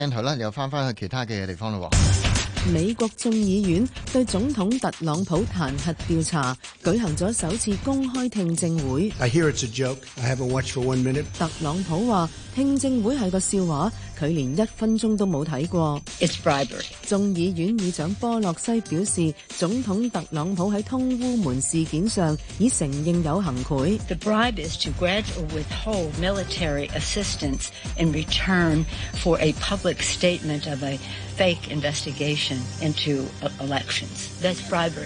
鏡頭啦，又翻去其他嘅地方咯。 美國眾議院對總統特朗普彈劾調查舉行咗首次公開聽證會。 I hear it's a joke. I haven't watched for 1 minute. 特朗普話聽證會係個笑話，佢連1分鐘都冇睇過。 It's bribery. 眾議院議長波洛西表示，總統特朗普喺通烏門事件上已承認有行賄。 The bribe is to grant or withhold military assistance in return for a public statement of a fake investigation into elections. That's bribery.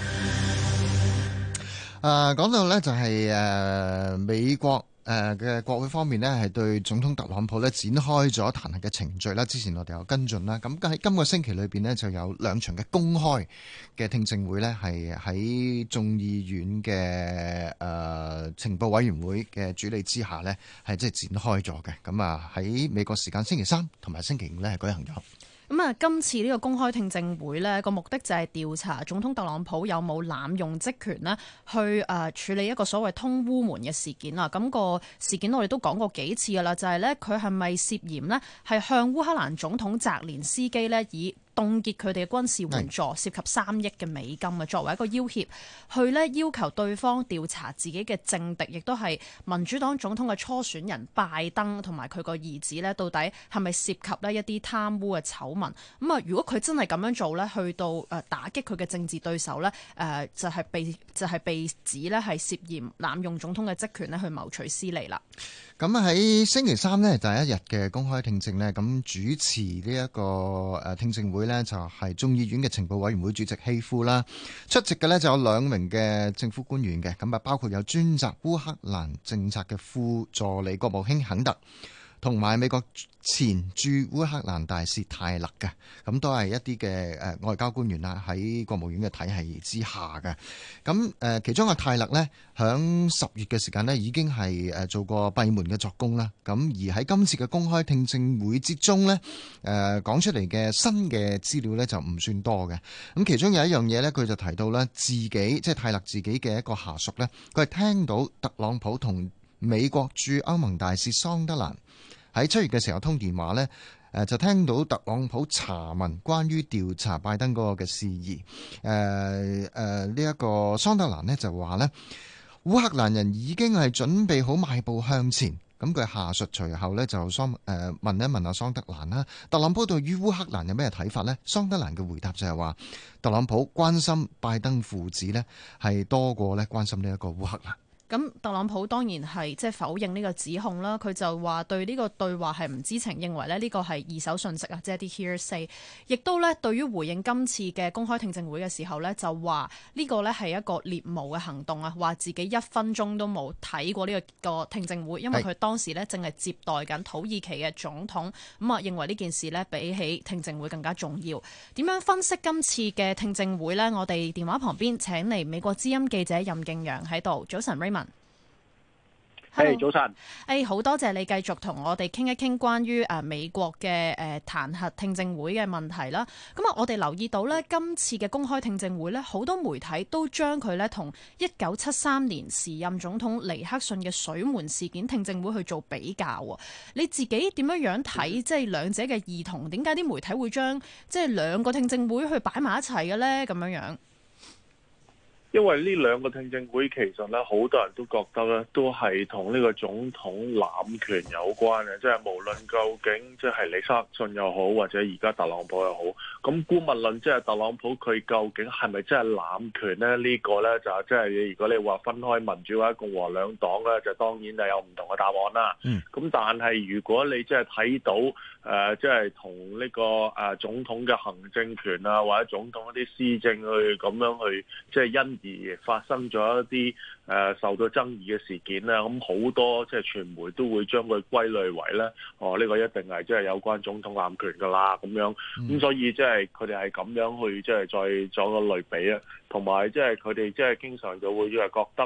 講到呢就係美國嘅國會方面呢，係對總統特朗普呢展開咗彈劾嘅程序啦。之前我哋有跟進啦，咁喺今個星期裏邊呢，就有2場嘅公開嘅聽證會呢，係喺眾議院嘅情報委員會嘅主理之下呢，係即係展開咗嘅。咁啊喺美國時間星期3同埋星期5呢，係舉行咗。 咁啊，今次呢個公開聽證會呢個目的就係調查總統特朗普有冇濫用職權呢去處理一個所謂通烏門嘅事件啊。咁個事件我哋都講過幾次噶啦，就係呢，佢係咪涉嫌呢係向烏克蘭總統澤連斯基呢以凍結佢哋嘅軍事援助，涉及3億嘅美金啊，作為一個要挾，去呢要求對方調查自己嘅政敵，亦都係民主黨總統嘅初選人拜登同埋佢個兒子呢，到底係咪涉及呢一啲貪污嘅醜聞？咁啊，如果佢真係咁樣做呢，去到打擊佢嘅政治對手呢，就係被指呢係涉嫌濫用總統嘅職權呢去謀取私利啦。 咁喺星期3呢，第一日嘅公開聽證呢，咁主持呢一個聽證會呢，就係眾議院嘅情報委員會主席希夫啦。出席嘅呢，就有2名嘅政府官員嘅，咁啊包括有專責烏克蘭政策嘅副助理國務卿肯特，同埋美國前駐烏克蘭大使泰勒嘅，咁都係一啲嘅外交官員啦，喺國務院嘅體系之下嘅。咁其中嘅泰勒呢，響10月嘅時間呢已經係做過閉門嘅作供啦。咁而喺今次嘅公開聽證會之中呢，講出嚟嘅新嘅資料呢就唔算多嘅。咁其中有一樣嘢呢，佢就提到呢，自己即係泰勒自己嘅一個下屬呢，佢係聽到特朗普同美國駐歐盟大使桑德蘭喺7月嘅時候通電話呢，就聽到特朗普查問關於調查拜登嗰個嘅事宜。呢一個桑德蘭呢就話呢，烏克蘭人已經係準備好邁步向前。咁佢下屬隨後呢就問一問阿桑德蘭啦，特朗普對於烏克蘭有咩睇法呢？桑德蘭嘅回答就係話，特朗普關心拜登父子呢係多過呢關心呢一個烏克蘭。 咁特朗普當然係即係否認呢個指控啦，佢就話對呢個對話係唔知情，認為咧呢個係二手信息啊，即係啲 hearsay。亦都咧對於回應今次嘅公開聽證會嘅時候咧，就話呢個咧係一個獵巫嘅行動啊，話自己1分鐘都冇睇過呢個聽證會，因為佢當時咧正係接待緊土耳其嘅總統，咁啊認為呢件事咧比起聽證會更加重要。點樣分析今次嘅聽證會呢？我哋電話旁邊請嚟美國之音記者任敬揚喺度。早晨 Raymond。 早晨。 好多謝你繼續同我哋傾一傾關於美國嘅彈劾聽證會嘅問題啦。咁啊，我哋留意到呢，今次嘅公開聽證會呢，好多媒體都將佢呢同1973年時任總統尼克遜嘅水門事件聽證會去做比較。你自己點樣睇即係兩者嘅異同？點解啲媒體會將即係兩個聽證會去擺埋一齊嘅呢？咁樣。 因為呢兩個聽證會其實咧，好多人都覺得咧，都係同呢個總統濫權有關嘅，即係無論究竟即係尼克遜又好，或者而家特朗普又好，咁姑勿論即係特朗普佢究竟係咪真係濫權咧？呢個咧就即係如果你話分開民主或者共和兩黨咧，就當然係有唔同嘅答案啦。咁但係如果你即係睇到即係同呢個總統嘅行政權啊，或者總統一啲施政去咁樣去即係因而發生咗一啲受到爭議嘅事件咧，咁好多即係傳媒都會將佢歸類為咧，呢個一定係即係有關總統濫權噶啦咁樣，咁所以即係佢哋係咁樣去即係再做個類比啊，同埋即係佢哋即係經常就會覺得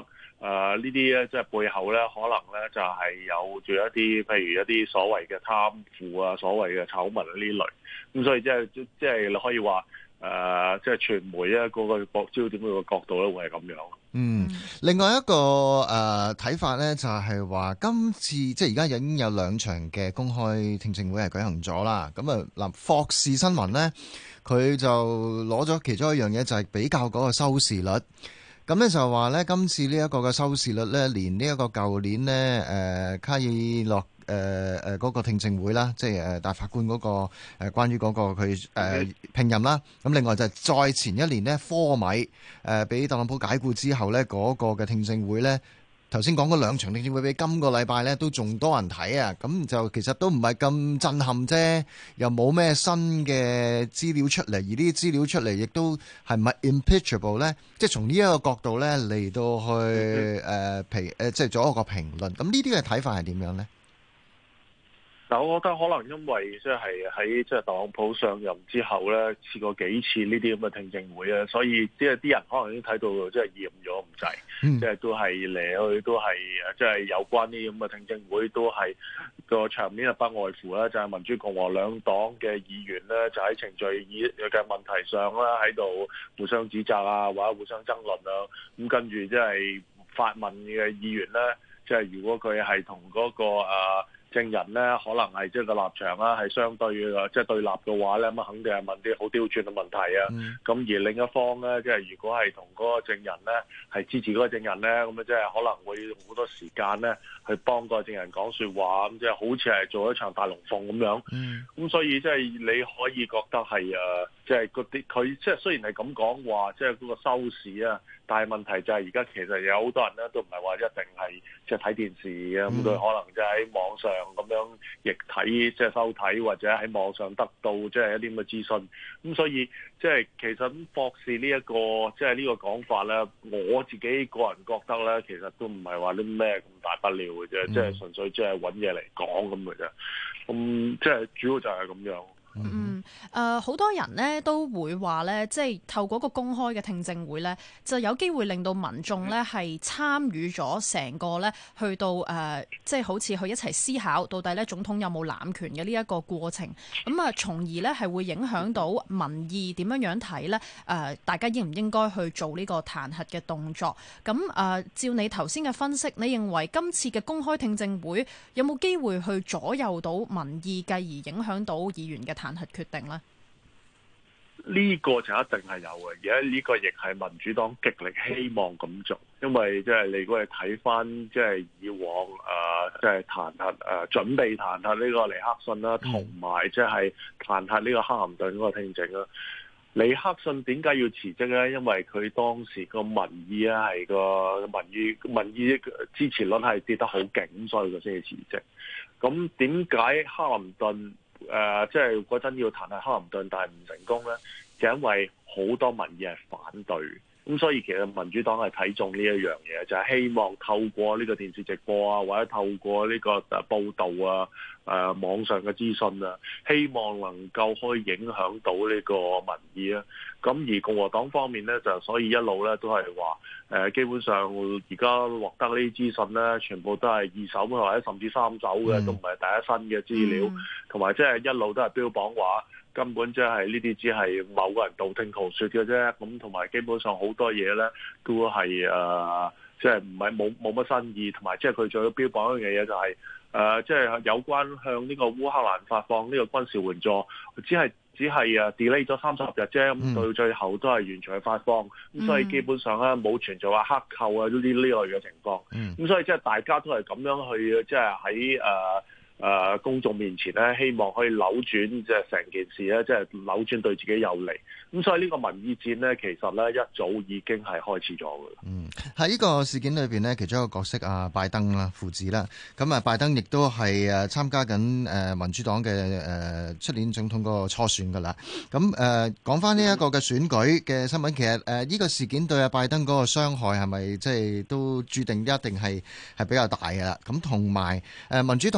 呢啲咧，即係背後咧，可能咧就係有住一啲，譬如一啲所謂嘅貪腐啊，所謂嘅醜聞呢類。咁所以即係你可以話即係傳媒咧嗰個焦點嗰個角度咧，會係咁樣。 另外一個睇法咧，就係話今次即係而家已經有2場嘅公開聽證會係舉行咗啦。咁啊嗱，霍士新聞咧，佢就攞咗其中一樣嘢，就係比較嗰個收視率。咁咧就話咧，今次呢一個嘅收視率咧，連呢一個舊年咧卡爾諾嗰個聽證會啦，即係大法官嗰個關於嗰個佢聘任啦。咁另外就係再前一年呢，科米俾特朗普解僱之後咧，嗰個嘅聽證會咧。頭先講嗰2場聽證會比今個禮拜咧都仲多人睇啊，咁就其實都唔係咁震撼啫，又冇咩新嘅資料出嚟，而呢啲資料出嚟亦都係唔係 impeachable 咧？即係從呢一個角度咧嚟到去即係做一個評論。咁呢啲嘅睇法係點樣咧？ 但我覺得可能因為即係喺即係特朗普上任之後咧，試過幾次呢啲咁嘅聽證會啊，所以即係啲人可能已經睇到即係厭咗唔滯，即係都係嚟去都係即係有關呢啲咁嘅聽證會，都係個場面不外乎啦，就係民主共和兩黨嘅議員咧，就喺程序嘅問題上啦，喺度互相指責啊，或者互相爭論啊，咁跟住即係發問嘅議員咧，即係如果佢係同嗰個證人咧，可能係即係個立場啦，係相對嘅，即係對立嘅話咧，咁肯定係問啲好刁鑽嘅問題啊。咁而另一方咧，即係如果係同嗰個證人咧係支持嗰個證人咧，咁啊即係可能會用好多時間咧去幫個證人講説話，咁即係好似係做一場大龍鳳咁樣。咁所以即係你可以覺得係即係嗰啲佢即係雖然係咁講話，即係嗰個收視啊，但係問題就係而家其實有好多人咧都唔係話一定係即係睇電視嘅，咁佢可能即係喺網上咁樣亦睇即係收睇，或者喺網上得到即係一啲咁嘅資訊。咁所以即係其實博士呢一個即係呢個講法咧，我自己個人覺得咧，其實都唔係話啲咩咁大不了嘅啫，即係純粹即係揾嘢嚟講咁嘅啫。咁即係主要就係咁樣。 好多人呢都會話呢，即係透過個公開嘅聽證會呢，就有機會令到民眾呢係參與咗成個呢去到即係好似去一齊思考到底呢總統有冇濫權嘅呢一個過程。咁啊，從而呢係會影響到民意點樣睇呢？大家應唔應該去做呢個彈劾嘅動作？咁照你頭先嘅分析，你認為今次嘅公開聽證會有冇機會去左右到民意，繼而影響到議員嘅彈劾決定呢？ 呢個就一定係有嘅，而家呢個亦係民主黨極力希望咁做，因為即係你如果係睇翻即係以往即係彈劾準備彈劾呢個尼克遜啦，同埋即係彈劾呢個克林頓嗰個聽證啦。尼克遜點解要辭職咧？因為佢當時個民意啊係個民意支持率係跌得好勁，所以佢先至辭職。咁點解克林頓即係嗰陣要彈劾克林頓，但係唔成功咧？就因為好多民意係反對，咁所以其實民主黨係睇中呢一樣嘢，就係希望透過呢個電視直播啊，或者透過呢個報導啊、網上嘅資訊啊，希望能夠可以影響到呢個民意啊。咁而共和黨方面咧，就所以一路咧都係話基本上而家獲得呢啲資訊咧，全部都係二手或者甚至三手嘅，都唔係第一身嘅資料，同埋即係一路都係標榜話根本即係呢啲只係某個人道聽途說嘅啫。咁同埋基本上好多嘢咧都係即係唔係冇乜新意，同埋即係佢最標榜一樣嘢就係即係有關向呢個烏克蘭發放呢個軍事援助，只係delay 咗30日啫，咁到最後都係完全去發放，咁所以基本上咧冇存在話克扣啊呢類嘅情況，咁所以即係大家都係咁樣去即係喺公眾面前咧，希望可以扭轉即係成件事咧，即係扭轉對自己有利。咁所以呢個民意戰咧，其實咧一早已經係開始咗㗎啦。 喺呢個事件裏邊呢，其中一個角色拜登啦，父子啦，咁拜登亦都係參加緊民主黨嘅出年總統嗰個初選㗎啦。咁講翻呢一個嘅選舉嘅新聞，其實呢個事件對拜登嗰個傷害係咪即係都注定一定係比較大㗎啦？咁同埋民主黨裏邊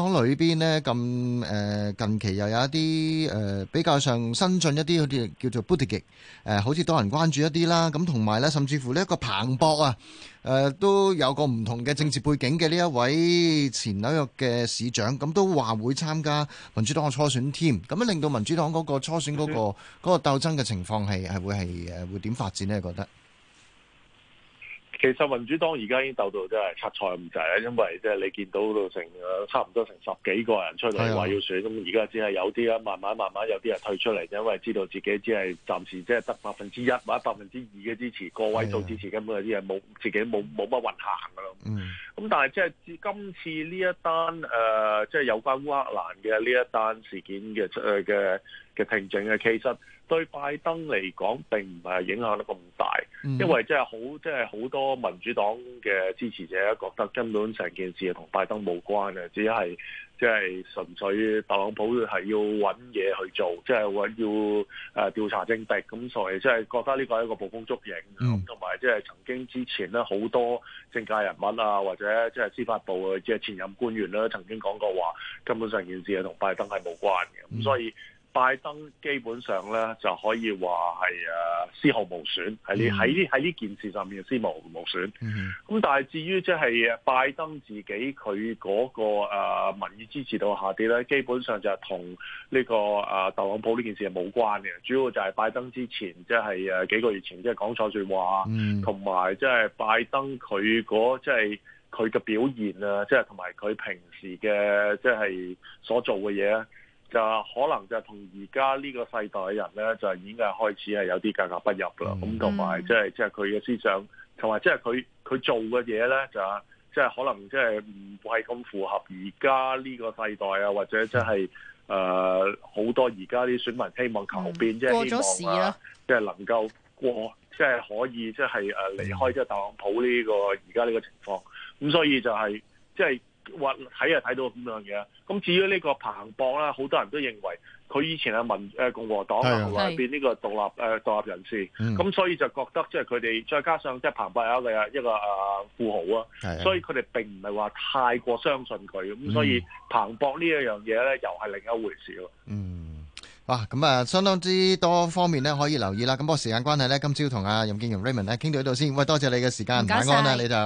邊呢，咁近期又有一啲比較上新進一啲，好似叫做 Buttigieg 好似多人關注一啲啦。咁同埋呢，甚至乎呢一個彭博啊，都有個唔同嘅政治背景嘅呢一位前紐約嘅市長，咁都話會參加民主黨嘅初選添。咁樣令到民主黨嗰個初選嗰個鬥爭嘅情況係會點發展呢？覺得？ 其實民主黨而家已經鬥到真係七彩咁滯啦，因為即係你見到到成差唔多成10幾個人出嚟話要選，咁而家只係有啲啦，慢慢有啲人退出嚟，因為知道自己只係暫時即係得1%或者2%嘅支持，個位數支持，根本有啲人自己冇乜運行噶咯。咁但係即係今次呢一單即係有關烏克蘭嘅呢一單事件嘅聽證嘅，其實對拜登嚟講並唔係影響得咁大，因為即係好多民主黨嘅支持者覺得根本成件事係同拜登冇關嘅，只係即係純粹特朗普係要揾嘢去做，即係話要調查政敵，咁所以即係覺得呢個係一個捕風捉影，同埋即係曾經之前咧好多政界人物啊，或者即係司法部嘅即係前任官員咧，曾經講過話根本上件事係同拜登係冇關嘅，咁所以拜登基本上咧就可以話係絲毫無損，喺呢件事上面絲毫無損。咁但係至於即係拜登自己佢嗰個民意支持度下跌咧，基本上就係同呢個特朗普呢件事係冇關嘅。主要就係拜登之前即係幾個月前即係講錯説話，同埋即係拜登佢即係佢嘅表現啊，即係同埋佢平時嘅即係所做嘅嘢咧。就可能就同而家呢個世代嘅人咧，就已經係開始係有啲格格不入啦。咁同埋即係佢嘅思想，同埋即係佢做嘅嘢咧，就即係可能即係唔係咁符合而家呢個世代啊，或者即係好多而家啲選民希望求變，即係希望即係能夠過，即係可以即係離開即係特朗普呢個而家呢個情況。咁所以就係即係。睇就睇到咁樣嘢。咁至於呢個彭博啦，好多人都認為佢以前係共和黨後來變呢個獨立人士，咁所以就覺得即係佢哋再加上即係彭博有一個富豪啊，所以佢哋並唔係話太過相信佢，咁所以彭博呢一樣嘢咧又係另一回事咯。 哇，咁相當之多方面咧可以留意啦。咁不過時間關係咧，今朝同阿任建揚 Raymond 咧傾到呢度先。喂，多謝你嘅時間，晚安啦，你就。